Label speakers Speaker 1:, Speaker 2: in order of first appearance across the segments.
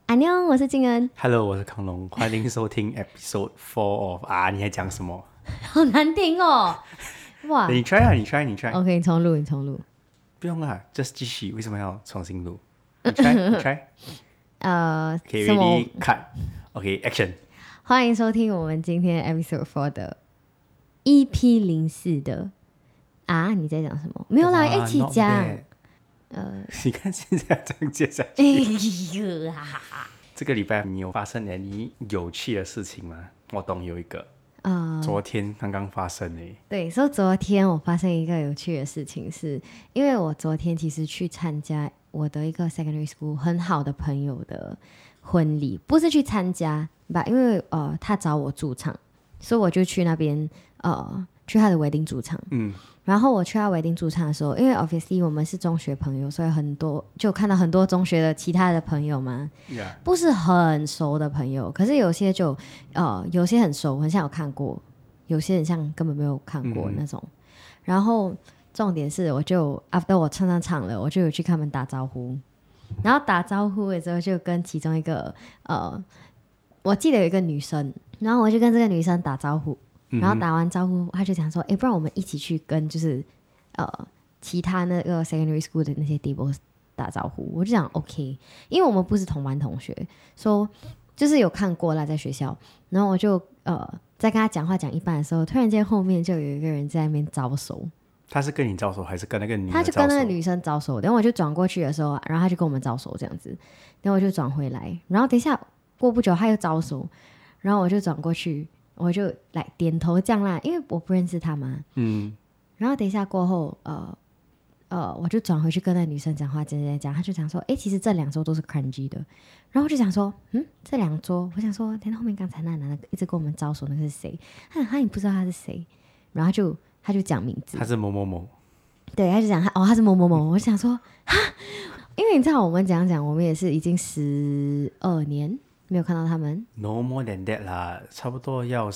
Speaker 1: 安妞，我是静恩。
Speaker 2: Hello， 我是康龙，欢迎收听 Episode 4 of 你还讲什么？
Speaker 1: 好难听哦！哇，
Speaker 2: 你 try 啊，你 try。
Speaker 1: OK，你重录。
Speaker 2: 不用啊 ，just 继续。为什么要重新录？你 try。Okay,
Speaker 1: 什么
Speaker 2: ready, cut. Okay, action.
Speaker 1: 欢迎收听我们今天 Episode 4的 EP04的你在讲什么？没有啦，一起讲。
Speaker 2: 你看现在这样接下去。这个礼拜你有发生你有趣的事情吗？我懂有一个。昨天刚刚发生诶。
Speaker 1: 对，所以昨天我发生一个有趣的事情是，因为我昨天其实去参加我的一个 secondary school 很好的朋友的婚礼，不是去参加吧，因为他找我驻场，所以我就去那边去他的 wedding 驻场。然后我去他 wedding 驻场的时候，因为 obviously 我们是中学朋友，所以很多就看到很多中学的其他的朋友嘛，不是很熟的朋友，可是有些就有些很熟，很像有看过，有些很像根本没有看过那种。然后重点是，我就 after 我唱了，我就有去跟他们打招呼，然后打招呼的时候就跟其中一个我记得有一个女生，然后我就跟这个女生打招呼。然后打完招呼，他就讲说：“不然我们一起去跟就是其他那个 secondary school 的那些 people 打招呼。”我就讲 OK， 因为我们不是同班同学，说就是有看过啦，在学校。然后我就在跟他讲话讲一半的时候，突然间后面就有一个人在那边招手。
Speaker 2: 他是跟你招手，还是跟那个女生招手？
Speaker 1: 他就跟那个女生招手，然后我就转过去的时候，然后他就跟我们招手这样子，然后我就转回来，然后等一下过不久他又招手，然后我就转过去。我就来点头这样啦，因为我不认识他嘛。然后等一下过后，我就转回去跟那女生讲话，讲，他就讲说，其实这两桌都是 crunchy 的。然后我就想说，这两桌，我想说，等后面刚才那男的一直跟我们招手，那个是谁？他也不知道他是谁，然后他就讲名字，
Speaker 2: 他是某某某。
Speaker 1: 对，他就讲他是某某某。我就想说，因为你知道我们讲，我们也是已经12年。没有看到他们
Speaker 2: No more than that 啦，差不多要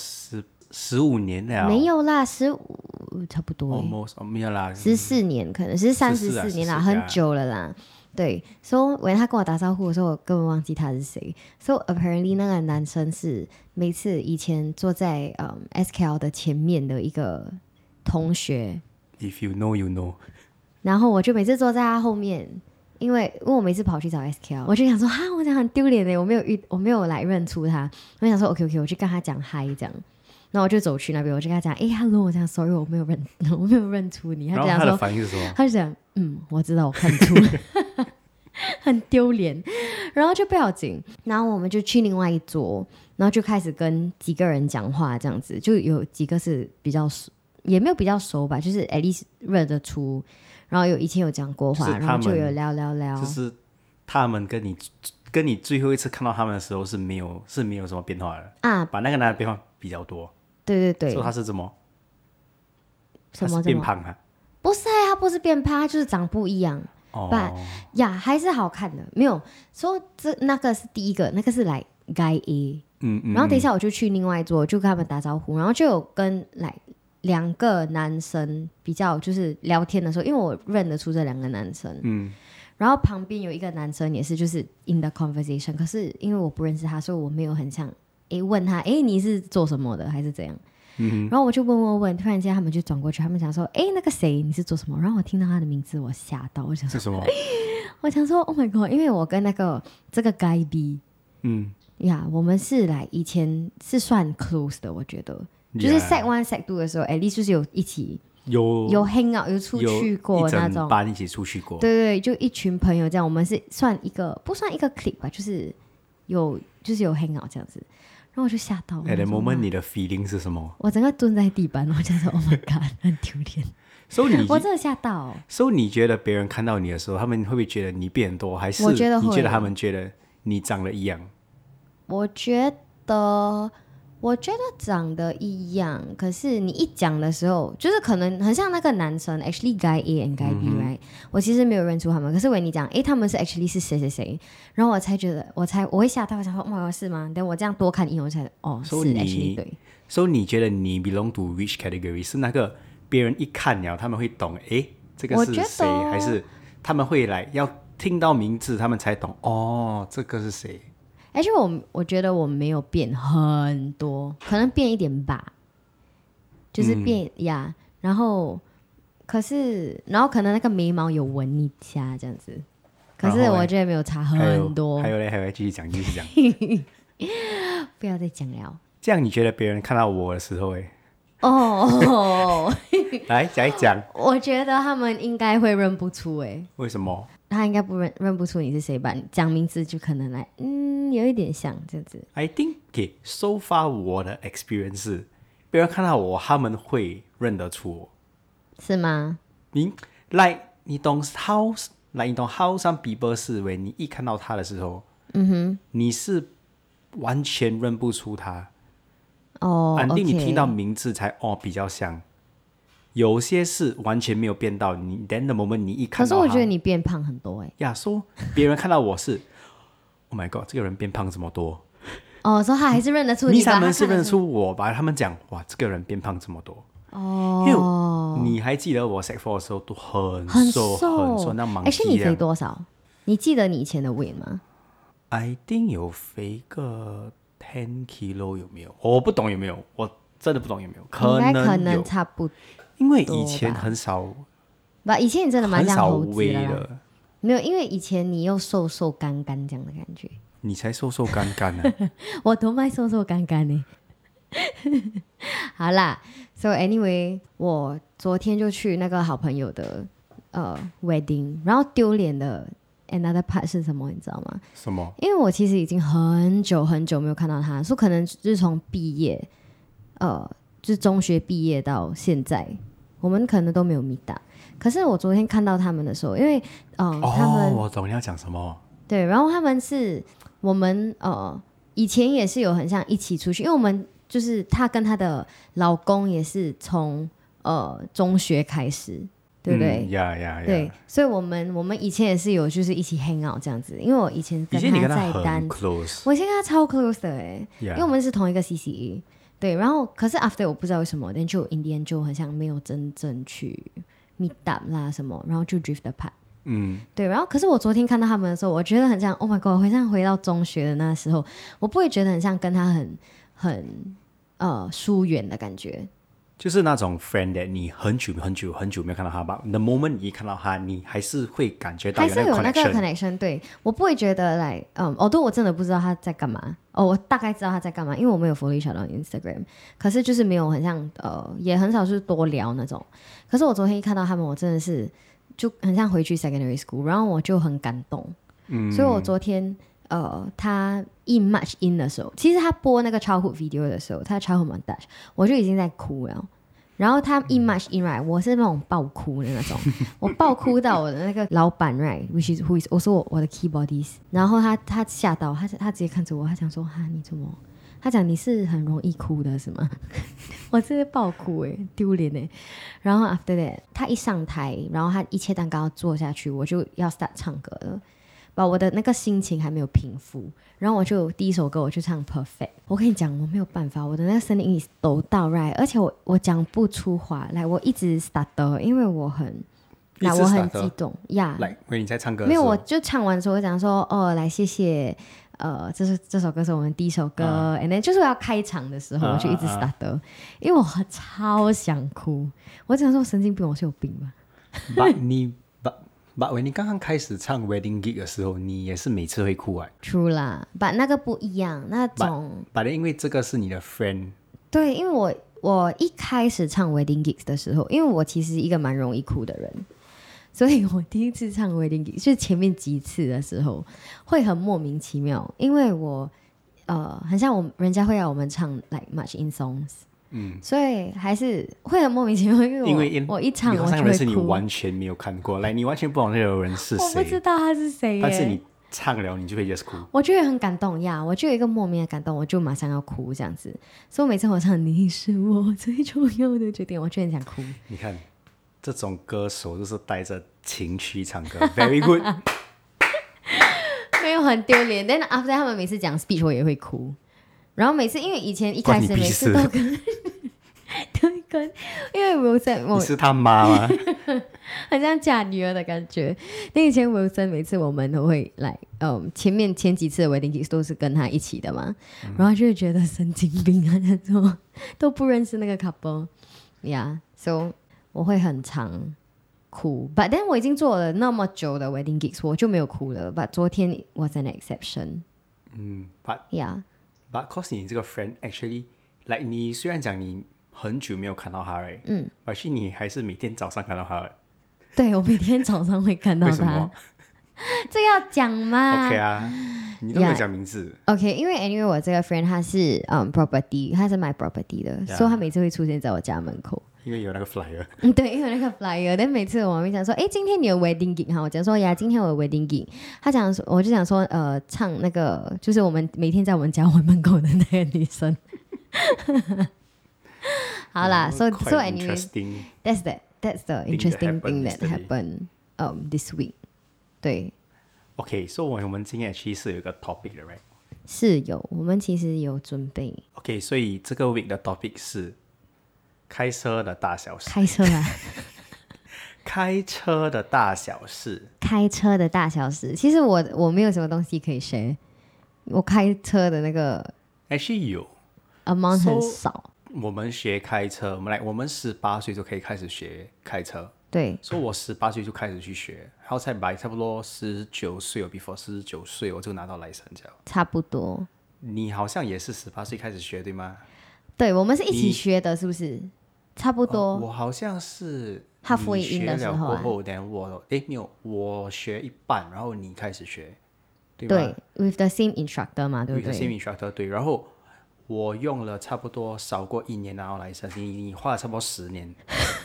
Speaker 2: 15年了。
Speaker 1: 没有啦，15差不多
Speaker 2: almost 没有啦
Speaker 1: ，14年可能是34年啦，很久了啦。对，所以他跟我打招呼的时候，我根本忘记他是谁。So apparently 那个男生是每次以前坐在SKL 的前面的一个同学。
Speaker 2: If you know, you know。
Speaker 1: 然后我就每次坐在他后面。因为我每次跑去找 SKL， 我就想说我讲很丢脸耶，我没有来认出他。我想说 OK， 我去跟他讲嗨这样，然后我就走去那边，我就跟他讲hello， 我讲 sorry， 我没有认出你。他就讲说，
Speaker 2: 然后他的反应是什么？
Speaker 1: 他就讲我知道，我看出很丢脸，然后就不要紧，然后我们就去另外一桌，然后就开始跟几个人讲话这样子，就有几个是比较熟，也没有比较熟吧，就是 at least 认得出。然后以前有讲过话，然后就有聊，
Speaker 2: 就是他们跟你最后一次看到他们的时候是没有什么变化的把那个男的变化比较多。
Speaker 1: 对，
Speaker 2: 说他是什么变胖啊？
Speaker 1: 不是他不是变胖，他就是长不一样。还是好看的，没有说那个是第一个，那个是来 guy A。然后等一下我就去另外一桌，就跟他们打招呼，然后就有跟来。2个男生比较就是聊天的时候，因为我认得出这2个男生，然后旁边有一个男生也是就是 in the conversation， 可是因为我不认识他，所以我没有很想问他你是做什么的还是怎样，然后我就问，突然间他们就转过去，他们想说那个谁你是做什么？然后我听到他的名字，我吓到，我想说
Speaker 2: 是什么？
Speaker 1: 我想说 Oh my god， 因为我跟这个 guy B， 我们是以前是算 close 的，我觉得。就是 Sec 1 Sec 2的时候 at least 就是有一起有 hang out 有出去过那种，
Speaker 2: 一整班一起出去过。
Speaker 1: 对，就一群朋友这样，我们是不算一个 clique 吧，就是有 hang out 这样子。然后我就吓到了。
Speaker 2: At the moment 你的 feeling 是什么？
Speaker 1: 我整个蹲在地板，我就说 Oh my god， 很丢脸。我真的吓到。
Speaker 2: 所以你觉得别人看到你的时候，他们会不会觉得你变多，还是你觉得他们觉得你长得一样？
Speaker 1: 我觉得长得一样，可是你一讲的时候，就是可能很像那个男生 ，actually guy A and guy B，right？我其实没有认出他们，可是你讲，他们是 actually 是谁谁谁，然后我才觉得，我会吓到，我想说，哇，是吗？等我这样多看一眼，我才是 actually 对。
Speaker 2: 所以你觉得你 belong to which category？ 是那个别人一看了，他们会懂，这个是谁？还是他们会要听到名字，他们才懂，这个是谁？
Speaker 1: 而且我觉得我没有变很多，可能变一点吧，就是变呀、然后可能那个眉毛有纹一下这样子，可是我觉得没有差很多。
Speaker 2: 还有继续讲
Speaker 1: 不要再讲了。
Speaker 2: 这样你觉得别人看到我的时候来讲一讲。
Speaker 1: 我觉得他们应该会认不出
Speaker 2: 为什么？
Speaker 1: 他应该认不出你是谁吧？讲名字就可能有一点像这样子。
Speaker 2: I think so far 我的 experience 是，别人看到我，他们会认得出我，
Speaker 1: 是吗？
Speaker 2: 你懂 how some people 是为你一看到他的时候，你是完全认不出他。肯定你听到名字才比较像。有些是完全没有变到你 then the moment 你一看到他，
Speaker 1: 可是我觉得你变胖很多
Speaker 2: 说别人看到我是Oh my god 这个人变胖这么多
Speaker 1: 所以他还是认得出你吧。
Speaker 2: 他们是认得出我吧，他们讲哇这个人变胖这么多因为你还记得我 Sec 4的时候都很瘦那忙。
Speaker 1: 你肥多少？你记得你以前的 weight 吗？
Speaker 2: I think 有肥个10 kilo 有没有？我不懂有没有，我真的不懂有没有，
Speaker 1: 可能差不多，
Speaker 2: 因为以前很少，
Speaker 1: 以前你真的蛮像猴子
Speaker 2: 的
Speaker 1: 没有，因为以前你又瘦瘦干干这样的感觉。
Speaker 2: 你才瘦瘦干干呢
Speaker 1: 我都卖瘦瘦干干呢好啦 So anyway 我昨天就去那个好朋友的wedding， 然后丢脸的 another part 是什么你知道吗？
Speaker 2: 什么？
Speaker 1: 因为我其实已经很久很久没有看到他，说可能就是从毕业就是中学毕业到现在我们可能都没有 meet up。可是我昨天看到他们的时候，因为他们
Speaker 2: 我懂你要讲什么。
Speaker 1: 对，然后他们是我们以前也是有很像一起出去，因为我们就是她跟她的老公也是从中学开始，对不对？对，所以我们以前也是有就是一起 hang out 这样子，因为我以前跟他在单，我以前跟他超 close 的因为我们是同一个 CCA。对，然后可是 after 我不知道为什么，但就 in the end 就很像没有真正去 meet up 啦什么，然后就 drift apart。对，然后可是我昨天看到他们的时候，我觉得很像 Oh my god， 好像回到中学的那时候，我不会觉得很像跟他很疏远的感觉。
Speaker 2: 就是那种 friend that 你很久没有看到他吧 the moment 你一看到他，你还是会感觉到
Speaker 1: 还是有那个 connection。 对，我不会觉得although 我真的不知道他在干嘛我大概知道他在干嘛，因为我没有 follow each other on Instagram， 可是就是没有很像也很少是多聊那种。可是我昨天一看到他们，我真的是就很像回去 secondary school， 然后我就很感动。所以我昨天他一 match in 的时候，其实他播那个 childhood video 的时候，他 childhood montage 我就已经在哭了。然后他一 match in right， 我是那种爆哭的那种我爆哭到我的那个老板 right which is who is also 我的 keyboardist， 然后他吓到他直接看着我，他讲说你怎么，他讲你是很容易哭的是吗我直接爆哭丢脸然后 after that 他一上台，然后他一切蛋糕做下去，我就要 start 唱歌了，把我的那个心情还没有平复，然后我就第一首歌我就唱 Perfect。 我跟你讲我没有办法，我的那个声音抖到 right， 而且我讲不出话来，我一直 stutter， 因为我很激动呀。
Speaker 2: 来，因为你在唱歌的
Speaker 1: 没有，
Speaker 2: 时候
Speaker 1: 我就唱完的时候我讲说来谢谢这首歌是我们第一首歌and then 就是我要开场的时候我就一直 stutter， 因为我超想哭，我只能说神经病，我是有病吧
Speaker 2: But when 你刚刚开始唱 Wedding Gig 的时候，你也是每次会哭
Speaker 1: True 啦 But 那个不一样，那种
Speaker 2: But 因为这个是你的 friend。
Speaker 1: 对，因为我一开始唱 Wedding Gigs 的时候，因为我其实一个蛮容易哭的人，所以我第一次唱 Wedding Gigs 就是前面几次的时候会很莫名其妙，因为我很像人家会要我们唱 like much in songs，所以还是会很莫名其妙，因为我一唱我就会哭。
Speaker 2: 人是你完全没有看过，你完全不懂那个人是谁，
Speaker 1: 我不知道他是谁
Speaker 2: 但是你唱了你就会 just 哭，
Speaker 1: 我就会很感动呀，我就有一个莫名的感动，我就马上要哭这样子。所以每次我唱你是我最重要的决定，我就很想哭。
Speaker 2: 你看这种歌手就是带着情绪唱歌very good
Speaker 1: 没有很丢脸，但 after 他们每次讲 speech 我也会哭，然后每次因为以前一开始每次都跟因为 Wilson
Speaker 2: 你是他妈吗？
Speaker 1: 很像嫁女儿的感觉。那以前 Wilson 每次我们都会来，前几次的 wedding gigs 都是跟他一起的嘛，然后就会觉得神经病啊，那种都不认识那个 couple， so 我会很常哭。But then 我已经做了那么久的 wedding gigs， 我就没有哭了。But 昨天 was an exception。
Speaker 2: But cause 你这个 friend actually like 你虽然讲你很久没有看到他right，而且你还是每天早上看到他。
Speaker 1: 对，我每天早上会看到他。
Speaker 2: 为什么？
Speaker 1: 这要讲吗
Speaker 2: ？OK 啊，你都没有讲名字。
Speaker 1: OK， 因为我这个 friend 他是property， 他是买 property 的，所以他每次会出现在我家门口。
Speaker 2: 因为有那个 flyer。
Speaker 1: 对，因为那个 flyer。但每次我们讲说，今天你有 wedding gig 哈，我讲说呀，今天我有 wedding gig。我就讲说，唱那个就是我们每天在我们家门口的那个女生。好啦，so anyway, that's the interesting thing that happened this week。对
Speaker 2: ，OK，so 我们今天其实有一个 topic 的 ，right？
Speaker 1: 是有，我们其实有准备。
Speaker 2: OK， 所以这个 week 的 topic 是开车的大小事。
Speaker 1: 开车啊！
Speaker 2: 开车的大小事。
Speaker 1: 开车的大小事，其实我没有什么东西可以学。我开车的那个
Speaker 2: actually 有
Speaker 1: amount 很少。
Speaker 2: 我们学开车，我们18岁就可以开始学开车。
Speaker 1: 对，
Speaker 2: 所以我18岁就开始去学，然后才差不多19岁，before 19岁我就拿到 license 了。
Speaker 1: 差不多。
Speaker 2: 你好像也是18岁开始学，对吗？
Speaker 1: 对，我们是一起学的，是不是？差不多。
Speaker 2: 我好像是
Speaker 1: halfway in 的时候
Speaker 2: 过后，等没有，我学一半，然后你开始学，对吗？
Speaker 1: 对 ，with the same instructor 嘛，对不对
Speaker 2: ？with the same instructor， 对，然后。我用了差不多少过1年拿到license，你花了差不多10年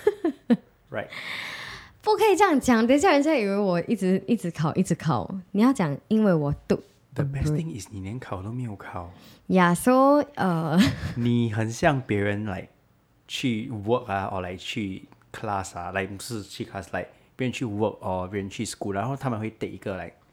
Speaker 2: ，right？
Speaker 1: 不可以这样讲，等一下人家以为我一直考。你要讲，因为我读。
Speaker 2: The best thing is 你连考都没有考。
Speaker 1: so
Speaker 2: 你很像别人来去 work 啊，或来去 class 啊，不是去 class， 别人去 work 或别人去 school， 然后他们会take 一个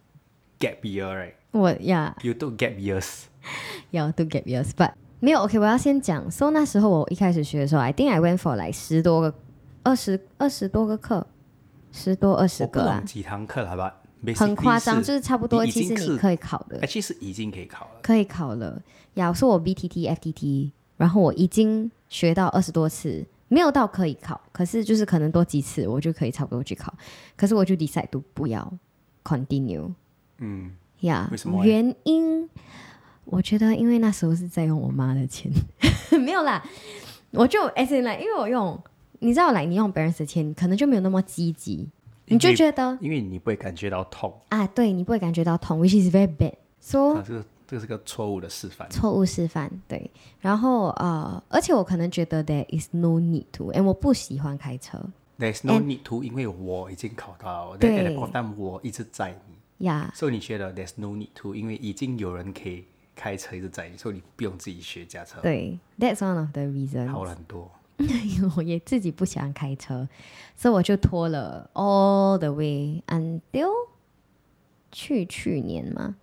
Speaker 2: gap year，right？ You took gap years。
Speaker 1: 要 do gap years， but 没有 OK。我要先讲 ，so 那时候我一开始学的时候 ，I think I went for 10多个、20多个课，10多20个啊。
Speaker 2: 几堂课了吧？
Speaker 1: 很夸张，就是差不多。其实你可以考的，
Speaker 2: 其实已经可以考了。
Speaker 1: 可以考了。我说我 BTT、FTT， 然后我已经学到20多次，没有到可以考，可是就是可能多几次我就可以差不多去考。可是我就 decide 不要 continue。为什么？原因。我觉得，因为那时候是在用我妈的钱，没有啦，我就因为我用，你知道，你用别人的钱，可能就没有那么积极，你就觉得，
Speaker 2: 因为你不会感觉到痛
Speaker 1: 啊，对，你不会感觉到痛 ，which is very bad。So
Speaker 2: 这是个错误的示范。
Speaker 1: 错误示范，对。然后而且我可能觉得 there is no need to， 我不喜欢开车。
Speaker 2: There's no need to， 因为我已经考到了，对，但我一直载你，所以你觉得 there's no need to， 因为已经有人可以。开车一直载你，所以你不用自己学驾车。
Speaker 1: 对 ，That's one of the reasons。
Speaker 2: 好了很多。
Speaker 1: 我也自己不喜欢开车，所以我就拖了 all the way until 去年嘛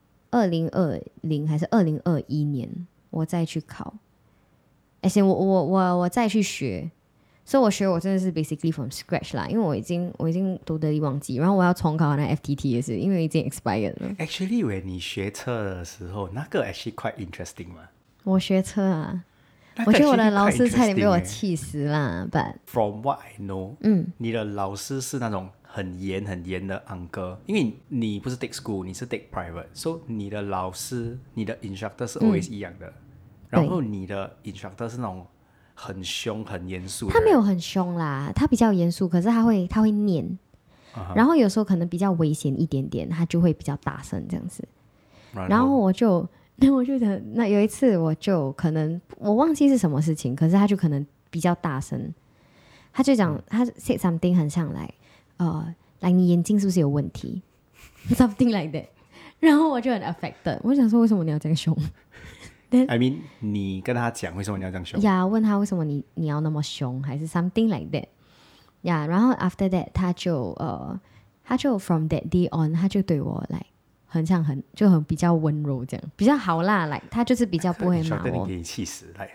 Speaker 1: ，2020还是2021年，我再去考。而且我再去学。所以我真的是 basically from scratch 啦，因为我已经都得忘记，然后我要重考那 FTT 也是，因为已经 expired 了。
Speaker 2: Actually， 你学车的时候，那个 actually quite interesting 嘛。
Speaker 1: 我学车啊，我觉得我的老师差点被我气死啦。But
Speaker 2: from what I know，你的老师是那种很严的 uncle， 因为你不是 take school， 你是 take private，so 你的老师，你的 instructor 是 always 一样的，然后你的 instructor 是那种。很凶很严肃，
Speaker 1: 他没有很凶啦，他比较严肃，可是他会念，然后有时候可能比较危险一点点，他就会比较大声这样子。然后我就那有一次我就可能我忘记是什么事情，可是他就可能比较大声，他就讲他 say something 很像你眼睛是不是有问题 something like that， 然后我就很 affected， 我想说为什么你要这样凶
Speaker 2: I mean， 你跟他讲为什么你要这样凶？
Speaker 1: 问他为什么你要那么凶，还是 something like that。然后 after that， 他就 from that day on， 他就对我很比较温柔这样，比较好啦，他就是比较不会骂我。
Speaker 2: 你给你气死，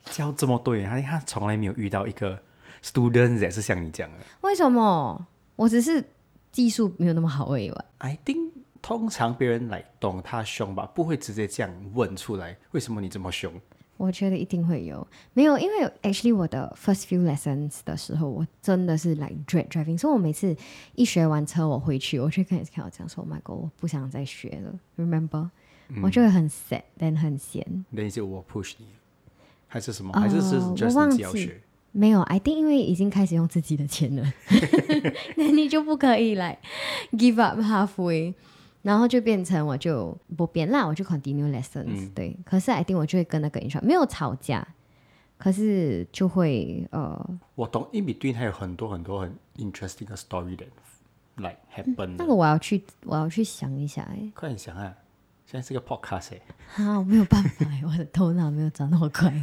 Speaker 2: 教这么多人，他从来没有遇到一个 student 也是像你讲的。
Speaker 1: 为什么？我只是技术没有那么好而已吧。
Speaker 2: I think 通常别人来懂他凶吧，不会直接这样问出来，为什么你这么凶？
Speaker 1: 我觉得一定会有，没有，因为 actually 我的 first few lessons 的时候，我真的是 like dread driving， 所以我每次一学完车，我回去，我就跟 Kyle 讲说 ，Oh my god， 我不想再学了 ，remember，我就会很 sad， 但很闲。
Speaker 2: 那就我 push 你，还是什么？还是 just 你自己要学？
Speaker 1: 没有 ，I think 因为已经开始用自己的钱了，那你就不可以来 give up halfway。然后就变成我就不变啦，我就 continue lessons、对，可是 I think 我就会跟那个 instructor 没有吵架，可是就会
Speaker 2: 我懂 in between 还有很多很多很 interesting 的 story that like happen、
Speaker 1: 那个我要去想一下
Speaker 2: 快点想啊，现在是个 podcast
Speaker 1: 我没有办法我的头脑没有转那么快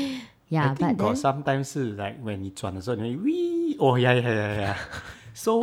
Speaker 2: I think got sometimes 是 like when 你转的时候你会 wee oh yeah so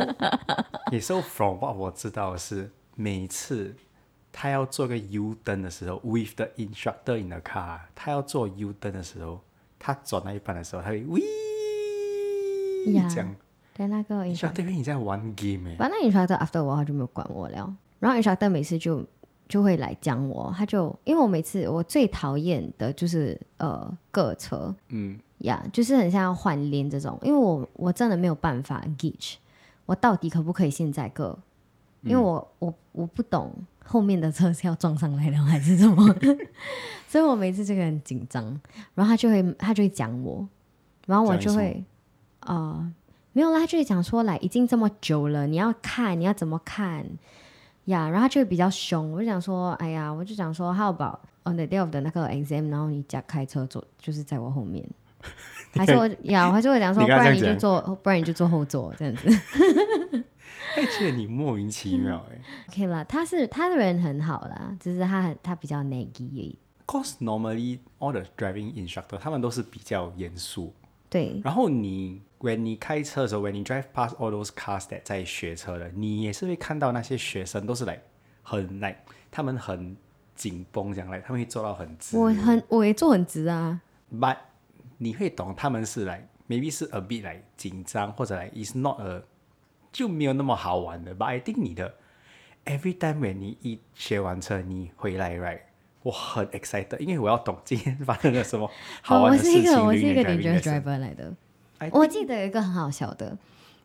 Speaker 2: so from what 我知道的是每次他要做个 U turn 的时候 with the instructor in the car 他要做 U turn 的时候他转那一半的时候他会 wee 这样
Speaker 1: 对那个
Speaker 2: instructor 你在玩 game
Speaker 1: 反正 instructor after 我他就没有管我了，然后 instructor 每次就会来讲我，他就因为我每次我最讨厌的就是各车就是很像要换链这种，因为我真的没有办法 gauge 我到底可不可以现在各因为我不懂后面的车是要撞上来了还是什么所以我每次就很紧张，然后他就会讲我，然后我就会没有啦，他就会讲说来已经这么久了你要看你要怎么看然后他就会比较凶，我就讲说哎呀，我就讲说 how about on the day of 的那个 exam 然后你假开车坐就是在我后面还是我还是会讲说不然你就坐后座这样子
Speaker 2: 觉得你莫名其妙
Speaker 1: OK 啦，他的人很好啦，只是他比较 naggy 而已。
Speaker 2: Cause normally all the driving instructor 他们都是比较严肃，
Speaker 1: 对。
Speaker 2: 然后when 你开车的时候 when 你 drive past all those cars that 在学车的，你也是会看到那些学生都是他们很紧绷这样他们会做到很直。
Speaker 1: 我也做很直啊。
Speaker 2: But 你会懂他们是maybe 是 a bit 紧张或者is not a就没有那么好玩的 But I think 你的 every time when 你一学完车你回来 right 我很 excited 因为我要懂今天发生了什么好玩的事情
Speaker 1: 我是一个 dangerous driver 来的。我记得有一个很好笑的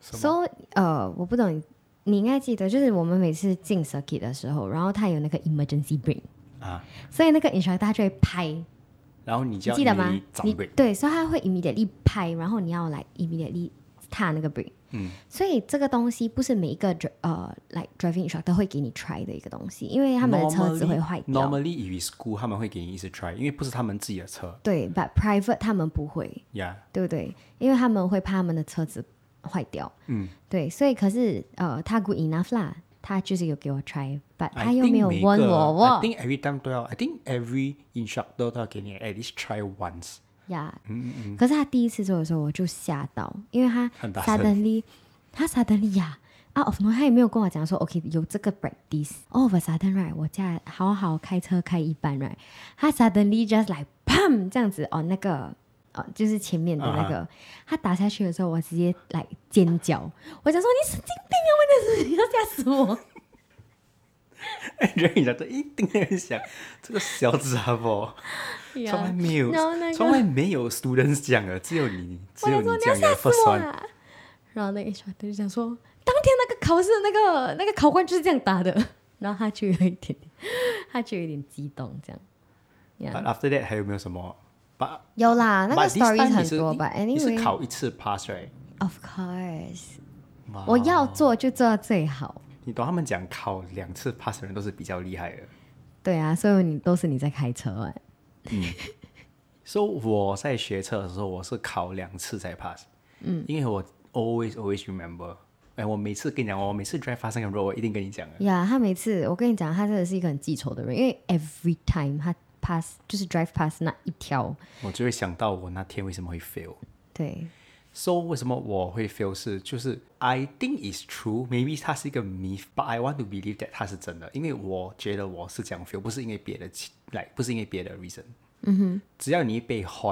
Speaker 1: So 我不懂你应该记得就是我们每次进 circuit 的时候然后他有那个 emergency brake 所以那个 instructor 他就会拍，
Speaker 2: 然后你就要
Speaker 1: 记得吗？对，所以他会 immediately 拍，然后你要immediately 踏那个 brake。所以这个东西不是每一个driving instructor 会给你 try 的一个东西，因为他们的车子会坏掉。
Speaker 2: Normally if school 他们会给你一直 try， 因为不是他们自己的车。
Speaker 1: 对 ，but private 他们不会，对不对？因为他们会怕他们的车子坏掉。对，所以可是他 good enough 啦，他就是有给我 try，but 他又没有问我。
Speaker 2: I think every time 都要 ，I think every instructor 都要给你 at least try once。
Speaker 1: 可是他第一次做的时候我就吓到，因为他 suddenly out of nowhere 他也没有跟我讲说 OK 有这个 practice all of a sudden right 我家好好开车开一半 right 他 suddenly just pam 这样子那个就是前面的那个他打下去的时候我直接尖叫，我想说你神经病啊，我真是要吓死我
Speaker 2: 人家都一定会想这个小杂货从来没有 students 讲的，只有你讲的 first one。
Speaker 1: 然后那个 instructor 就讲说当天那个考试那个考官就是这样打的，然后他就有一点激动这样。
Speaker 2: But after that 还有没有什么？
Speaker 1: 有啦，那个 story 很多吧。Anyway
Speaker 2: 你是考一次 pass right？
Speaker 1: Of course， 我要做就做到最好。
Speaker 2: 你懂他们讲考2次 pass 的人都是比较厉害的。
Speaker 1: 对啊，所以都是你在开车
Speaker 2: So 我在学车的时候我是考2次才 pass。因为我 always remember。我每次跟你讲，我每次 drive 发生个 road 我一定跟你讲的。
Speaker 1: 他每次我跟你讲，他真的是一个很记仇的人，因为 every time 他 pass 就是 drive pass 那一条，
Speaker 2: 我就会想到我那天为什么会 fail。
Speaker 1: 对。
Speaker 2: So 为什么我会 fail 就是 I think it's true maybe 它是一个 myth but I want to believe that 它是真的，因为我觉得我是这样 fail 不是因为别的不是因为别的 reason。只要你一被 horn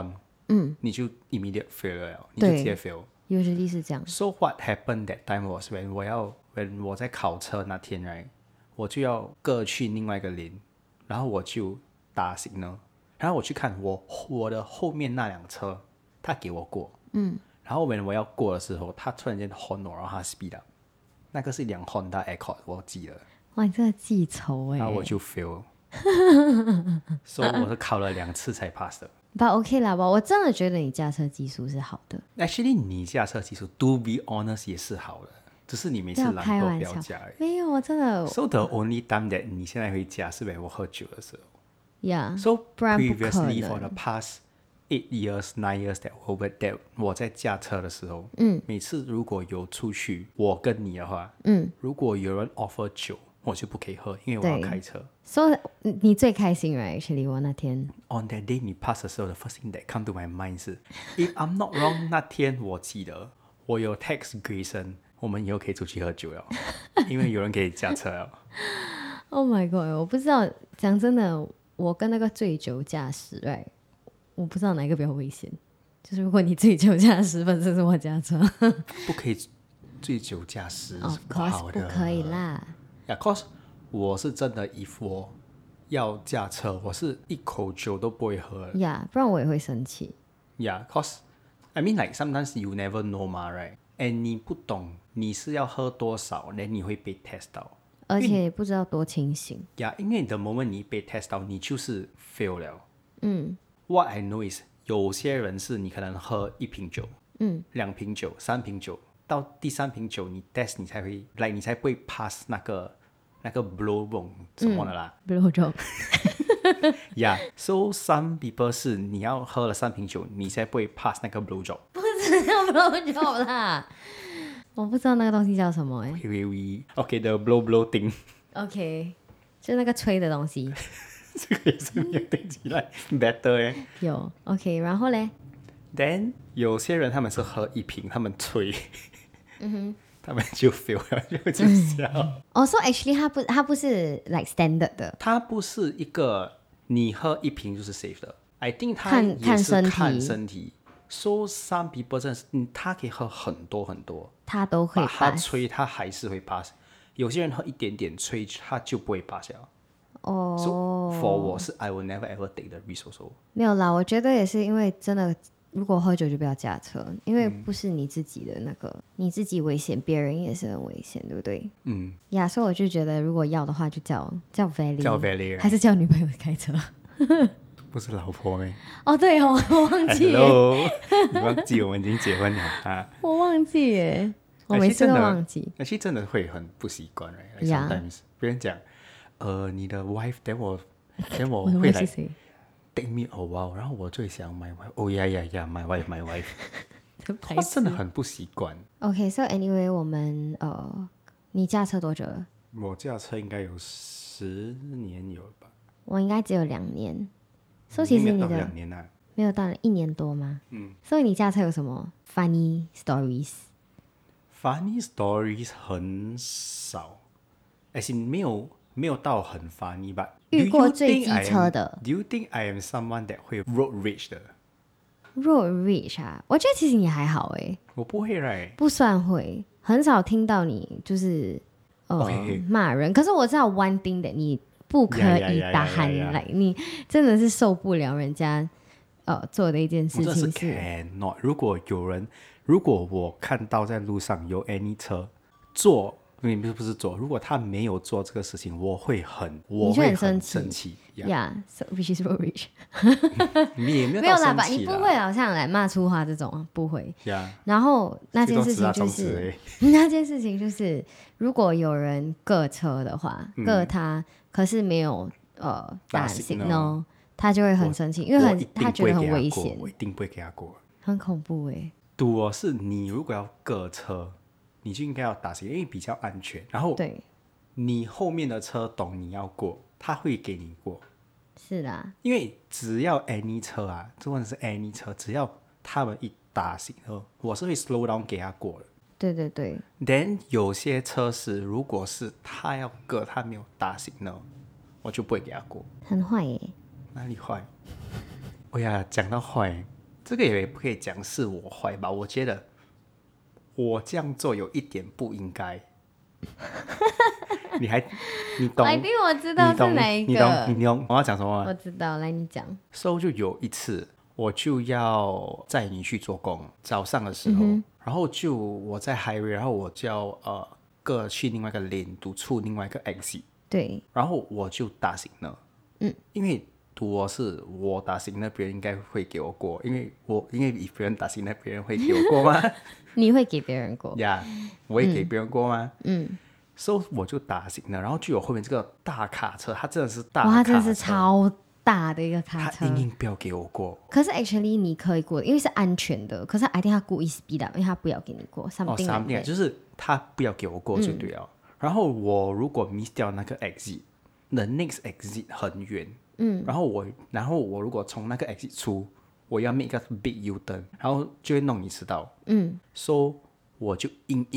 Speaker 2: 你就 immediate fail 了，你就直接 fail。
Speaker 1: usually 是这样。
Speaker 2: So what happened that time was when 我在考车那天 right， 我就要各去另外一个连，然后我就打 signal， 然后我去看我的后面那辆车，他给我过，然后 when 我要过的时候，他突然间 horn 我，然后他 speed up， 那个是一辆 Honda Accord， 我记了。
Speaker 1: 哇，你真的记仇
Speaker 2: 然后我就 fail， 所以我是考了2次才 pass 的。
Speaker 1: But OK 啦吧，我真的觉得你驾车技术是好的。
Speaker 2: Actually， 你驾车技术 to be honest 也是好的，只是你每次懒惰不要驾而已。
Speaker 1: 没有，我真的。
Speaker 2: So the only time that 你现在会驾是when 我喝酒的时候。
Speaker 1: Yeah.
Speaker 2: So previously for the past 8 years, 9 years that 我在驾车的时候，每次如果有出去，我跟你的话，如果有人 offer 酒，我就不可以喝，因为我要开车。
Speaker 1: 所以你最开心 right actually 我那天
Speaker 2: On that day 你 pass 的时候，the first thing that come to my mind 是 if I'm not wrong 那天我记得我有 text Grayson， 我们以后可以出去喝酒了，因为有人可以驾车了。
Speaker 1: Oh my god， 我不知道，讲真的，我跟那个醉酒驾驶 right， 我不知道哪一个比较危险。就是如果你醉酒驾驶，本身是我驾车，
Speaker 2: 不可以醉酒驾驶，是不好的。
Speaker 1: 不可以啦。
Speaker 2: Yeah, cause 我是真的 if 我要驾车，我是一口酒都不会喝。
Speaker 1: Yeah， 不然我也会生气。
Speaker 2: Yeah, cause I mean like sometimes you never know 嘛 right? And 你不懂你是要喝多少，然后你会被 test 到，
Speaker 1: 而且也不知道多清醒。
Speaker 2: Yeah， 因为the moment 你被 test 到，你就是 fail 了。What I know is 有些人是你可能喝1瓶酒，2瓶酒，3瓶酒，到第3瓶酒你 test 你才会你才不会 pass 那个 blow job 什么的啦。
Speaker 1: blow job。
Speaker 2: Yeah, so some people 是你要喝了3瓶酒，你才不会 pass 那个 blow job。
Speaker 1: 不是叫 blow job 啦，我不知道那个东西叫什么哎。
Speaker 2: Okay, the blow thing。
Speaker 1: OK， 就那个吹的东西。
Speaker 2: 这个也是没有听起来 better 哎。
Speaker 1: 有 OK， 然后嘞
Speaker 2: ？Then 有些人他们是喝1瓶，他们吹，他们就 fail 了，就笑。
Speaker 1: So actually 它不是 like standard 的，
Speaker 2: 它不是一个你喝1瓶就是 safe 的。I think 它也是看身体。So some people 真的是，他可以喝很多很多，
Speaker 1: 他都会 pass，
Speaker 2: 他吹他还是会 pass。有些人喝一点点吹，他就不会 pass 了。So for 我是 I will never ever take the risk also。
Speaker 1: 没有啦，我觉得也是因为真的，如果喝酒就不要驾车，因为不是你自己的那个，你自己危险，别人也是很危险，对不对？所以我就觉得如果要的话，就叫 Valley， 还是叫女朋友开车。
Speaker 2: 不是老婆咩？
Speaker 1: 对哦，我忘记耶。
Speaker 2: Hello， 你忘记我们已经结婚了啊？
Speaker 1: 我忘记耶，我每次都忘记。
Speaker 2: 而且真的会很不习惯 ，right? Like sometimes 别人讲，你的 wife， 等我会来 take me a while， 然后我就会想 my wife， yeah，my wife， 我真的很不习惯。
Speaker 1: OK，so anyway， 我们你驾车多久了？
Speaker 2: 我驾车应该有10年有吧。我
Speaker 1: 应该只有2年。所以其实你的
Speaker 2: 2年啊，
Speaker 1: 没有到1年多吗？所以你驾车有什么 funny stories？Funny
Speaker 2: stories 很少，而且没有到很 funny 吧。
Speaker 1: 遇过最机车的
Speaker 2: ？Do you think I am someone that 会 road rage 的
Speaker 1: ？road rage 啊，我觉得其实你还好哎。
Speaker 2: 我不会 right，
Speaker 1: 不算会，很少听到你就是骂人。可是我知道 one thing that 你不可以打鼾来，你真的是受不了人家做的一件事情是。
Speaker 2: 我真的是 cannot。如果我看到在路上有 any 车做，不是做，如果他没有做这个事情，我会很生气。
Speaker 1: So which is road rage。
Speaker 2: 你也没有
Speaker 1: 没有啦吧？你不会好像来骂粗话这种，不会。然后那件事情就是如果有人各车的话，各他。可是没有打 signal， 他就会很生气，因为他觉得很危险。
Speaker 2: 我一定不会给他过，
Speaker 1: 很恐怖哎。
Speaker 2: 赌是你如果要各车，你就应该要打 signal， 因为比较安全。然后
Speaker 1: 对，
Speaker 2: 你后面的车懂你要过，他会给你过。
Speaker 1: 是啦，
Speaker 2: 因为只要 any 车啊，这问题是 any 车，只要他们一打 signal， 我是会 slow down 给他过的。
Speaker 1: 对对对。
Speaker 2: Then 有些车是，如果是他要过，他没有打 signal， 我就不会给他过。
Speaker 1: 很坏耶。
Speaker 2: 哪里坏？讲到坏， 这个也不可以讲是我坏吧，我觉得我这样做有一点不应该。你懂？
Speaker 1: 我知道是哪一个。
Speaker 2: 你懂我要讲什么吗？
Speaker 1: 我知道，来你讲。
Speaker 2: 就有一次，我就要载你去做工，早上的时候，然后我在 highway， 然后我就要各去另外一个 lane 督促另外一个 exit。
Speaker 1: 对。
Speaker 2: 然后我就打醒了，因为我打醒了，别人应该会给我过，因为别人打醒了，别人会给我过吗？
Speaker 1: 你会给别人过
Speaker 2: 呀我会给别人过吗？所以我就打醒了，然后就有后面这个大卡车，它真的是大卡车，
Speaker 1: 哇，它真的是超大的一个卡车，
Speaker 2: 它硬不要给我过。
Speaker 1: 可是 actually 你可以过，因为是安全的。可是 I think 他故意 speed up， 因为他不要给你过。something
Speaker 2: 就是他不要给我过就对了。然后我如果 miss 掉那个 exit，the next exit 很远，然后我如果从那个 exit 出，我要 make 一个 big U turn， 然后就会弄你迟到。so 我就硬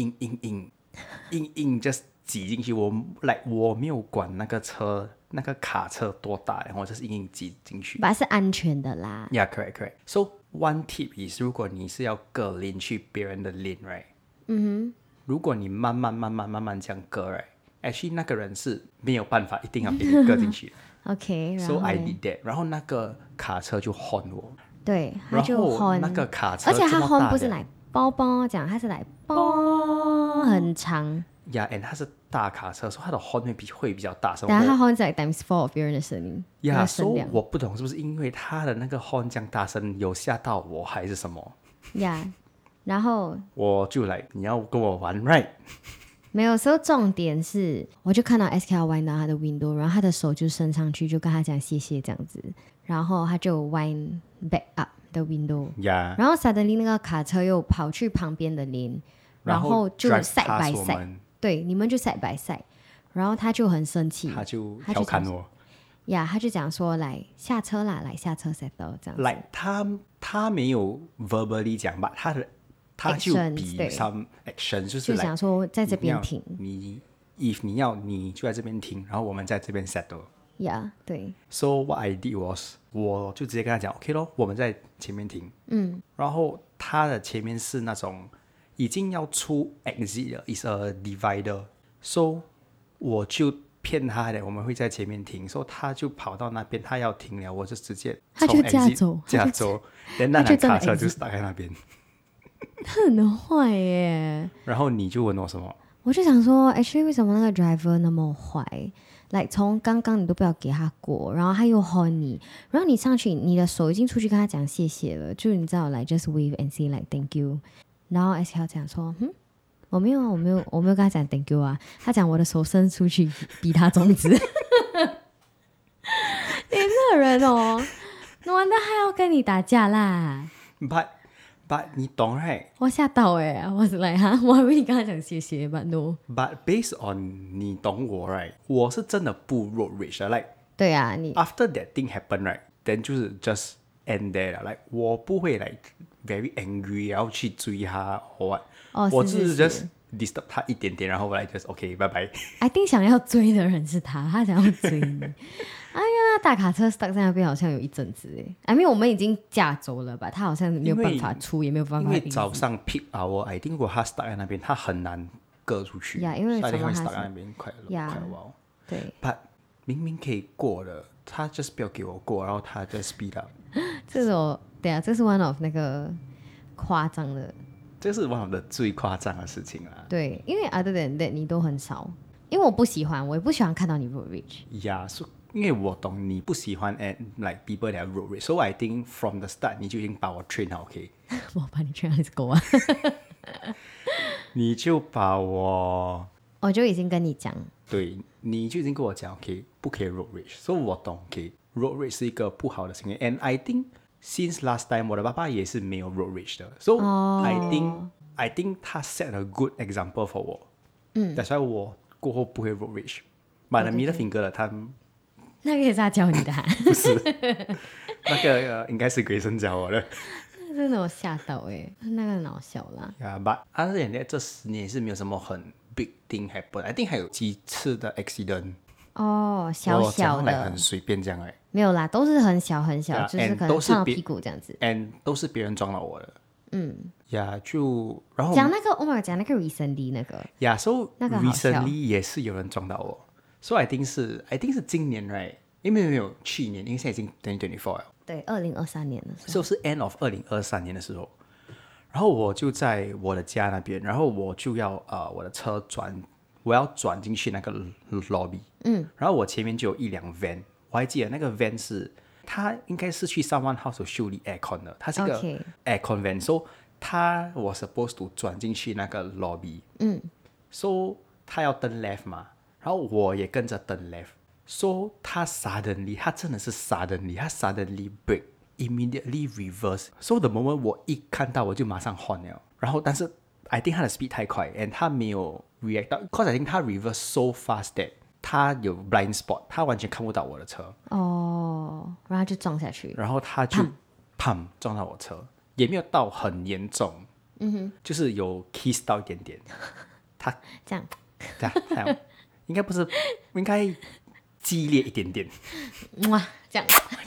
Speaker 2: just 挤进去，我没有管那个卡车多大，然后我就是硬挤进去。
Speaker 1: 是安全的啦。
Speaker 2: Yeah, correct. So one tip is， 如果你是要隔lane去别人的 lane， right？如果你慢慢这样隔 right，actually 那个人是没有办法一定要给你隔进去的。
Speaker 1: OK，
Speaker 2: so I did that， 然后那个卡车就 horn 我。
Speaker 1: 对，他就 horn，
Speaker 2: 那个卡车，
Speaker 1: 而且他 horn 不是来包包这样，他是来包很长。
Speaker 2: and 它是大卡车，所以它的 horn 会比较大声。
Speaker 1: 但它 horn 是 like times 4 of 别人的声音。
Speaker 2: 所以我不懂是不是因为它的那个 horn 这样大声有吓到我还是什么？
Speaker 1: 然后
Speaker 2: 我就你要跟我玩 right？
Speaker 1: 没有，所以重点是，我就看到 SK 弯到他的 window， 然后他的手就伸上去，就跟他讲谢谢这样子，然后他就弯 back up the window， 然后 suddenly 那个卡车又跑去旁边的lane，然后就 side by side， 对，你们就 side by side， 然后他就很生气，
Speaker 2: 他就调侃我，
Speaker 1: 他就讲说来下车啦，来下车 settle 这样子。
Speaker 2: 他没有 verbally 讲吧，他就比 some action， 就
Speaker 1: 想说在这边停，
Speaker 2: if 你要你就在这边停，然后我们在这边 settle。
Speaker 1: 对。
Speaker 2: So what I did was， 我就直接跟他讲 OK 咯，我们在前面停。然后他的前面是那种已经要出 exit 了 ，is a divider。So 我就骗他的，我们会在前面停，所以他就跑到那边，他要停了，我就直接从 exit 驾走，那辆卡车就打在那边。
Speaker 1: 他很坏耶。
Speaker 2: 然后你就问我什么？
Speaker 1: 我就想说 actually 为什么那个 driver 那么坏，从刚刚你都不要给他过，然后他又 horn 你，然后你上去，你的手已经出去跟他讲谢谢了，就你知道just wave and say thank you， 然后 SK 讲说我没有跟他讲 thank you 啊，他讲我的手伸出去比他中指。你这个人哦，完蛋还要跟你打架啦。
Speaker 2: But 你懂 right？
Speaker 1: 我吓到我是我还以为你跟他讲谢谢 but no。
Speaker 2: But based on 你懂我 right？ 我是真的不 road rage 的
Speaker 1: 对啊，你
Speaker 2: after that thing happen right， then 就是 just end there 了我不会very angry 然后去追他或 what，我只是 just disturb 他一点点，然后我just OK 拜拜。
Speaker 1: I think 想要追的人是他想要追你。哎呀，大卡车 stuck 在那边好像有一阵子I mean 我们已经驾走了吧，他好像没有办法出，也没有办法。
Speaker 2: 因为早上 peak hour，I think 如果他 stuck 在那边，他很难割出去。
Speaker 1: 因为什么他
Speaker 2: stuck 在那边快了。
Speaker 1: 对。
Speaker 2: But 明明可以过的，他 just 不要给我过，然后他 just speed up。
Speaker 1: 这是 one of 那个夸张的。
Speaker 2: 这是 one of 的最夸张的事情啦。
Speaker 1: 对，因为 other than that 你都很少，因为我不喜欢，我也不喜欢看到你 road rage。
Speaker 2: so 因为我懂你不喜欢 people that road rage， so I think from the start 你就已经把我 train 好 OK。
Speaker 1: 我把你 train 好是狗啊。
Speaker 2: 你就把我
Speaker 1: 就已经跟你讲，
Speaker 2: 对，你就已经跟我讲 OK 不可以 road rage， 所以我懂 OK road rage 是一个不好的行为 and I think since last time 我的爸爸也是没有 road rage 的 so I think 他 set a good example for 我that's why 我过后不会 road rage。 买了 middle finger 的他
Speaker 1: 那个也是他教你的
Speaker 2: 不是那个应该是Grayson教我的。
Speaker 1: 真的我吓到那个很好笑啦。
Speaker 2: but other than that 这10年也是没有什么很 big thing happen。 I think 还有几次的 accident。
Speaker 1: 哦，小小的，
Speaker 2: 很随便这样
Speaker 1: 没有啦，都是很小很小，就是可能撞到屁股这样子
Speaker 2: ，and 都是别人撞到我的。就然后
Speaker 1: 讲那个 Omar 讲那个 recently 那个
Speaker 2: so
Speaker 1: 那个好笑
Speaker 2: recently 也是有人撞到我，so I think 是今年 right， 因为没有去年，因为现在已经2024了，
Speaker 1: 对，2023年的时候，
Speaker 2: 是 end of 2023年的时候，然后我就在我的家那边，然后我就要我的车我要转进去那个 lobby，然后我前面就有一辆 van， 我还记得那个 van 是它应该是去 someone house 修理 aircon 的，它是一个 aircon van，so 我 supposed to 转进去那个 lobby，so 他要登 left 嘛，然后我也跟着登 left，so 他真的是 suddenly brake immediately reverse，so the moment 我一看到我就马上 horn 了，然后但是 I think 他的 speed 太快 and 他没有 react 到 cause I think 他 reverse so fast that 他有 blind spot， 他完全看不到我的车，
Speaker 1: 然后就撞下去，
Speaker 2: 然后他就砰撞到我车，也没有到很严重，就是有 kiss 到一点点，他
Speaker 1: 这样
Speaker 2: 应该不是，应该激烈一点点，
Speaker 1: 哇，这样，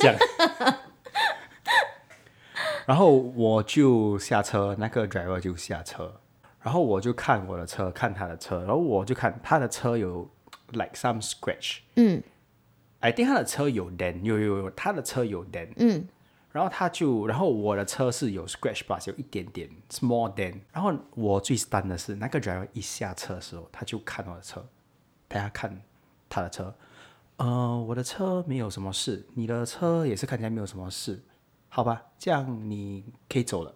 Speaker 2: 然后我就下车，那个 driver 就下车，然后我就看我的车，看他的车，然后我就看他的车有 like some scratch，I think 他的车有 dent， 有他的车有 dent，然后我的车是有 scratch plus 有一点点 small dent， 然后我最 stun 的是那个 driver 一下车的时候，他就看我的车，大家看他的车，我的车没有什么事，你的车也是看起来没有什么事，好吧，这样你可以走了。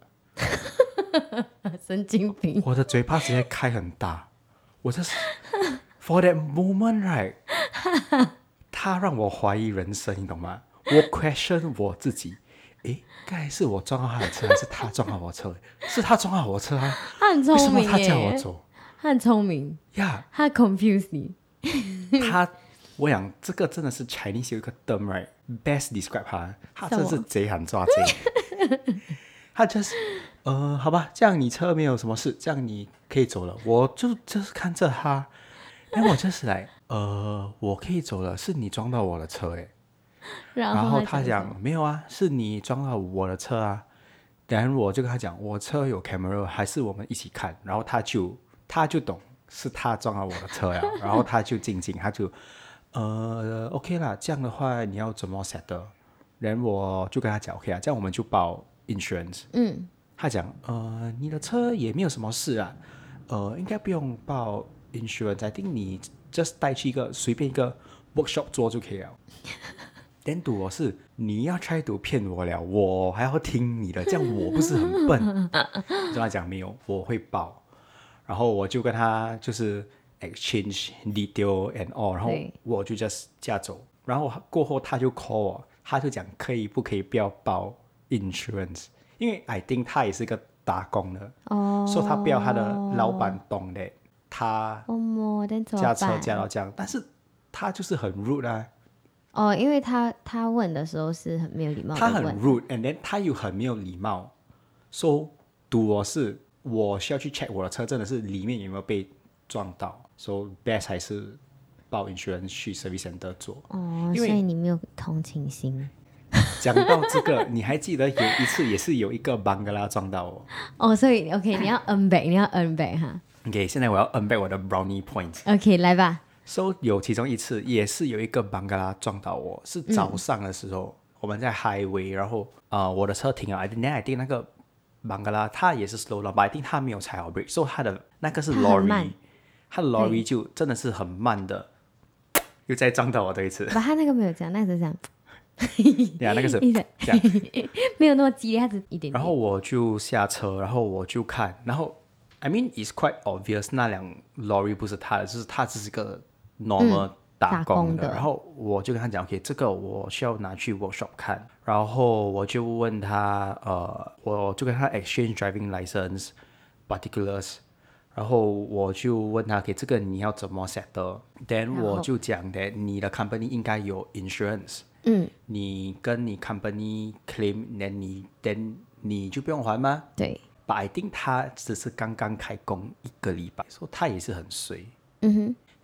Speaker 1: 神经病！
Speaker 2: 我的嘴巴直接开很大，我就是 for that moment right， 他让我怀疑人生，你懂吗？我 question 我自己。刚才是我撞到他的车，还是他撞到我车？是他撞到我车啊！
Speaker 1: 他很聪明耶，
Speaker 2: 为什么他叫我走？
Speaker 1: 他很聪明
Speaker 2: 呀，
Speaker 1: 他 confuse 你。
Speaker 2: 我想这个真的是 Chinese 有一个 term right best describe 他真的是贼喊抓贼。他就是好吧，这样你车没有什么事，这样你可以走了。我就是看着他，然后我就是来我可以走了，是你撞到我的车然后他讲没有啊，是你撞到我的车啊。然后我就跟他讲，我车有 camera， 还是我们一起看。然后他就懂是他撞到我的车呀。然后他就静静，他就OK 啦，这样的话你要怎么 settle？ 然后我就跟他讲 OK 啊，这样我们就报 insurance。他讲你的车也没有什么事啊，应该不用报 insurance， I think 你 just 带去随便一个 workshop 做就可以了。点赌我是你要 try to 骗我了，我还要听你的，这样我不是很笨？就跟他讲没有，我会报。然后我就跟他就是 exchange detail and all， 然后我就 just 驾走。然后过后他就 call 我，他就讲不可以不要报 insurance， 因为 I think 他也是个打工的，所以他不要他的老板懂的，他驾车驾到这样，但是他就是很 rude 啊。
Speaker 1: 因为他问的时候是很没有礼貌的问，
Speaker 2: 他很 rude，and then 他又很没有礼貌。So 我需要去 check 我的车真的是里面有没有被撞到。So best 还是报 insurance 去 service center 做。
Speaker 1: 所以你没有同情心。
Speaker 2: 讲到这个，你还记得有一次也是有一个 Bangla 撞到我。
Speaker 1: 所以 OK， 你要 earn back 哈。
Speaker 2: OK， 现在我要 earn back 我的 brownie point。
Speaker 1: OK， 来吧。
Speaker 2: So 有其中一次也是有一个 Bangla 撞到我，是早上的时候，我们在 highway， 然后我的车停了 I think 那个 Bangla 他也是 slow down， but I think 他没有踩好 brake， so 他的那个是 lorry， 他的 lorry 就真的是很慢的，又再撞到我这一次。
Speaker 1: 他那个没有这样，那个是这样。
Speaker 2: 那个是这样，
Speaker 1: 没有那么激烈，他只一点点。
Speaker 2: 然后我就下车，然后我就看，然后 I mean it's quite obvious 那辆 lorry 不是他的，就是他只是个 normal 打工的。然后我就跟他讲 OK， 这个我需要拿去 workshop 看。然后我就问他我就跟他 exchange driving license particulars， 然后我就问他 OK， 这个你要怎么 settle， then 我就讲的你的 company 应该有 insurance， 你跟你 company claim， then 你就不用还吗？
Speaker 1: 对。
Speaker 2: But I think 他只是刚刚开工1个礼拜，所以他也是很衰。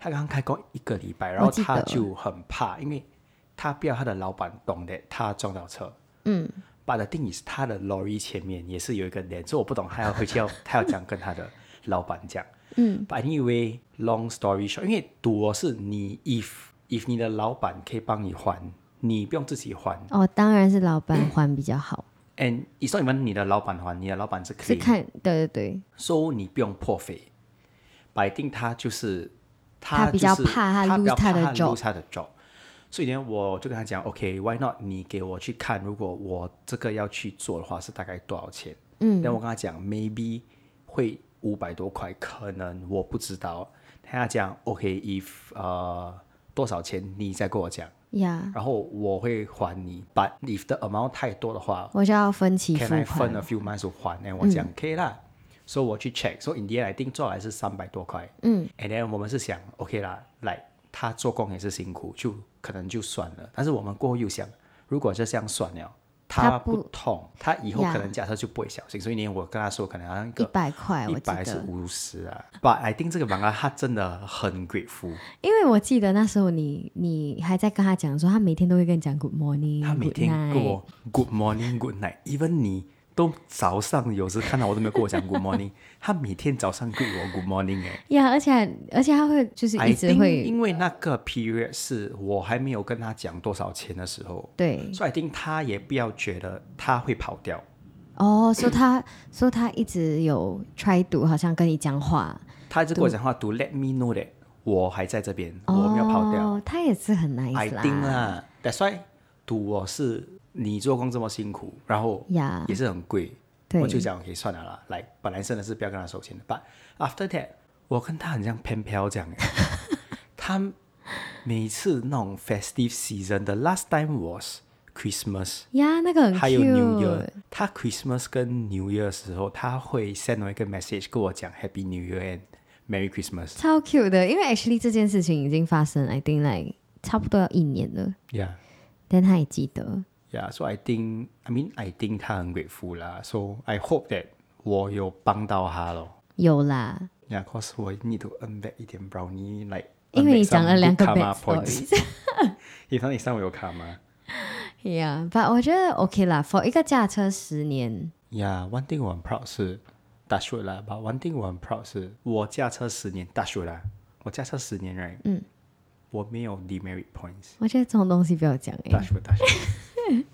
Speaker 2: 他刚开工1个礼拜，然后他就很怕，因为他不要他的老板懂得他撞到车。But the thing is 他的 lorry 前面也是有一个脸，所以我不懂他要回去他要这样跟他的老板讲。But anyway long story short， 因为赌是你 if 你的老板可以帮你还，你不用自己还。
Speaker 1: 当然是老板还比较好。
Speaker 2: And it's not even 你的老板还，你的老板是可以
Speaker 1: 看，对。
Speaker 2: So 你不用破费。But I think 他
Speaker 1: 比较怕他 lose
Speaker 2: 他的 job。所以呢，我就跟他讲 ，OK， why not？ 你给我去看，如果我这个要去做的话，是大概多少钱？然后我跟他讲 ，maybe 会500多块，可能我不知道。他讲 ，OK，if 多少钱，你再跟我讲。然后我会还你 ，but if the amount 太多的话，
Speaker 1: 我就要分期付款。
Speaker 2: Can I 分 a few months 还？然后我讲可以啦。所以我去 check，so in the end I think 做来是300多块。And then 我们是想 OK 啦，来他做工也是辛苦，就可能就算了。但是我们过后又想，如果就这样算了，他不痛，他以后可能驾车就不会小心。所以呢，我跟他说可能好像
Speaker 1: 100块
Speaker 2: ，100还是50啊。But I think 这个妈妈她真的很 grateful，
Speaker 1: 因为我记得那时候你还在跟他讲说，他每天都会跟你讲 Good morning，
Speaker 2: 他每天跟我 Good morning Good night，even 你都早上有时看到我都没有跟我讲 Good morning， 他每天早上跟我 Good morning
Speaker 1: 而且他会就是一直会，
Speaker 2: 因为那个 period 是我还没有跟他讲多少钱的时候，
Speaker 1: 对，
Speaker 2: 所以 I think 他也不要觉得他会跑掉。
Speaker 1: 所以他一直有 try to 好像跟你讲话，
Speaker 2: 他一直跟我讲话 to let me know that 我还在这边，我没有跑掉。
Speaker 1: 他也是很 nice 啦。
Speaker 2: I think 啦 ，that's why to 我是你做工这么辛苦，然后也是很贵，我就讲可以算了啦。来，本来真的是不要跟他收钱的 ，but after that， 我跟他很像pen pal这样。他每次那种 festive season，the last time was Christmas，
Speaker 1: 那个很 cute，
Speaker 2: 还有 New Year。他 Christmas 跟 New Year 的时候，他会 send 我一个 message 跟我讲 Happy New Year and Merry Christmas，
Speaker 1: 超 cute 的。因为 actually 这件事情已经发生 ，I think like 差不多要1年了。但他也记得。
Speaker 2: so I think 他很 grateful 啦。So I hope that 我有帮到他咯。
Speaker 1: 有啦。
Speaker 2: cause 我 need to earn back 一点 brownie， like
Speaker 1: 因为你讲了2个 bad stories。
Speaker 2: 你上我有卡吗
Speaker 1: ？but 我觉得 OK 啦 ，for 一个驾车10年。
Speaker 2: one thing 我很 proud 是 touch wood 啦 ，but one thing 我很 proud 是我驾车10年 touch wood 啦，我驾车10年 right，我没有 demerit points。
Speaker 1: 我觉得这种东西不要讲
Speaker 2: touch wood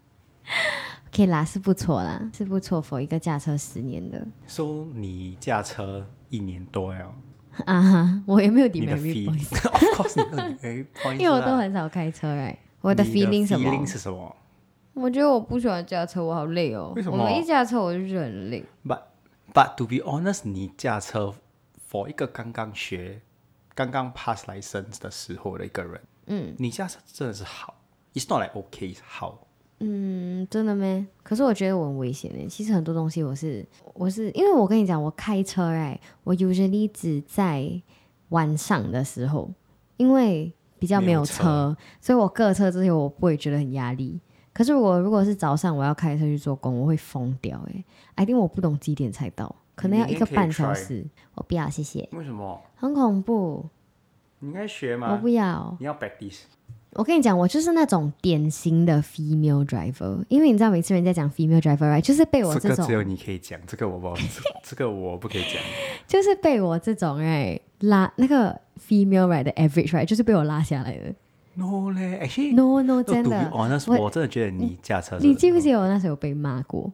Speaker 1: OK 啦，是不错啦，是不错 for 一个驾车10年的。
Speaker 2: So 你驾车1年多了
Speaker 1: 我也没有 demerit
Speaker 2: points。Of course 你有 demerit points，
Speaker 1: 因为我都很少开车right。我的 feeling
Speaker 2: 是什么？
Speaker 1: 我觉得我不喜欢驾车，我好累哦。
Speaker 2: 为什么？
Speaker 1: 我一驾车我就觉得很累。
Speaker 2: But to be honest， 你驾车 for 一个刚刚 pass license 的时候的一个人，你驾车真的是好。It's not like OK， 好。
Speaker 1: 真的咩？可是我觉得我很危险耶。其实很多东西我是因为我跟你讲，我开车我 usually 只在晚上的时候，因为比较没有车，所以我各车这些我不会觉得很压力。可是如果是早上我要开车去做工，我会疯掉I think 我不懂几点才到，可能要1个半小时。我不要，谢谢。
Speaker 2: 为什么？
Speaker 1: 很恐怖。
Speaker 2: 你应该学吗？
Speaker 1: 我不要。
Speaker 2: 你要 practice。
Speaker 1: 我跟你讲，我就是那种典型的 female driver， 因为你知道每次人家讲 female driver， 就是被我这种，
Speaker 2: 这个只有你可以讲，这个我不可以讲，
Speaker 1: 就是被我这种拉那个 female right 的 average right， 就是被我拉下来的。
Speaker 2: No 嘞 ，actually
Speaker 1: no 真的
Speaker 2: ，to be honest， 我真的觉得你驾车，
Speaker 1: 你记不记得我那时候有被骂过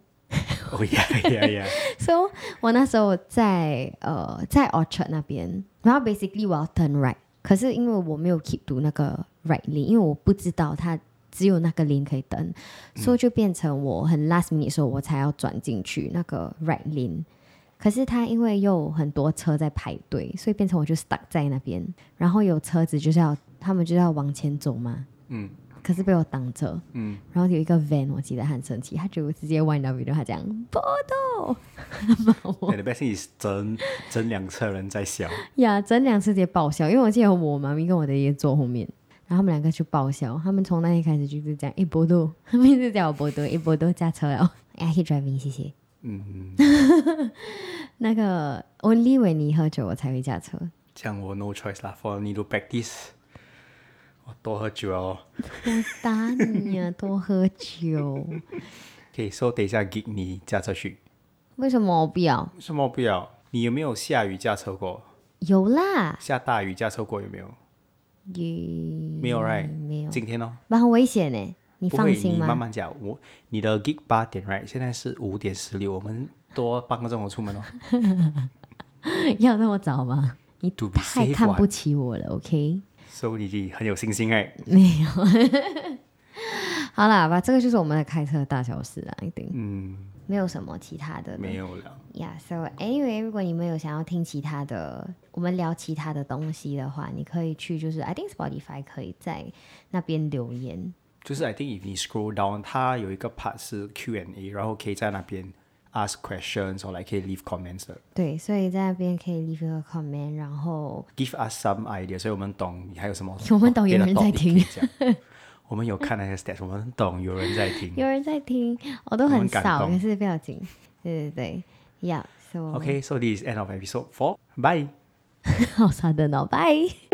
Speaker 2: ？yeah。
Speaker 1: So 我那时候在Orchard 那边，然后 basically 我要 turn right， 可是因为我没有 keep 读那个 right lane， 因为我不知道它只有那个 lane 可以登，所以就变成我很 last minute 的时候我才要转进去那个 right lane。可是它因为又很多车在排队，所以变成我就 stuck 在那边，然后有车子他们就是要往前走嘛，可是被我挡着，然后有一个 van， 我记得他很生气，他就直接弯到 video， 他讲波豆，
Speaker 2: the best thing is 整辆车人在笑，
Speaker 1: 整辆车直接爆笑，因为我记得我妈咪跟我的爷坐后面，然后他们2个就爆笑，他们从那天开始就是讲波豆，他们一直叫我波豆，波豆驾车了，I driving， 谢谢。那个 only when 你喝酒我才会驾车，
Speaker 2: 这样我 no choice 啦 ，for need to practice。我多喝酒哦。
Speaker 1: 我打你啊！多喝酒。
Speaker 2: 可以说等一下给你驾车去。
Speaker 1: 为什么我不要？
Speaker 2: 为什么不要？你有没有下雨驾车过？
Speaker 1: 有啦。
Speaker 2: 下大雨驾车过有没有？没有 right？
Speaker 1: 没有。
Speaker 2: 今天哦。
Speaker 1: 蛮危险呢，你放心吗？
Speaker 2: 不会，你慢慢讲。你的 gig 8点 right？ 现在是5:16，我们多半个钟头出门哦。
Speaker 1: 要那么早吗？你太看不起我了 ，OK？
Speaker 2: 所以你很有信心哎。
Speaker 1: 没有。好啦吧，这个就是我们的开车大小事啦，一定。没有什么其他的。
Speaker 2: 没有了。
Speaker 1: So anyway， 如果你们有想要听其他的，我们聊其他的东西的话，你可以去就是 I think Spotify 可以在那边留言。
Speaker 2: 就是 I think if 你 scroll down， 它有一个 part 是 Q&A， 然后可以在那边 ask questions 或可以 leave comments 的。
Speaker 1: 对，所以在那边可以 leave 一个 comment， 然后
Speaker 2: give us some idea， 所以我们懂你还有什么。
Speaker 1: 我们懂有人在听。
Speaker 2: 我们有看那些 stats， 我们懂有人在听。
Speaker 1: 有人在听，我都很少，可是不要紧。对，Yeah，so
Speaker 2: OK，so this is end of episode 4。Bye。
Speaker 1: 好sad的呢，拜。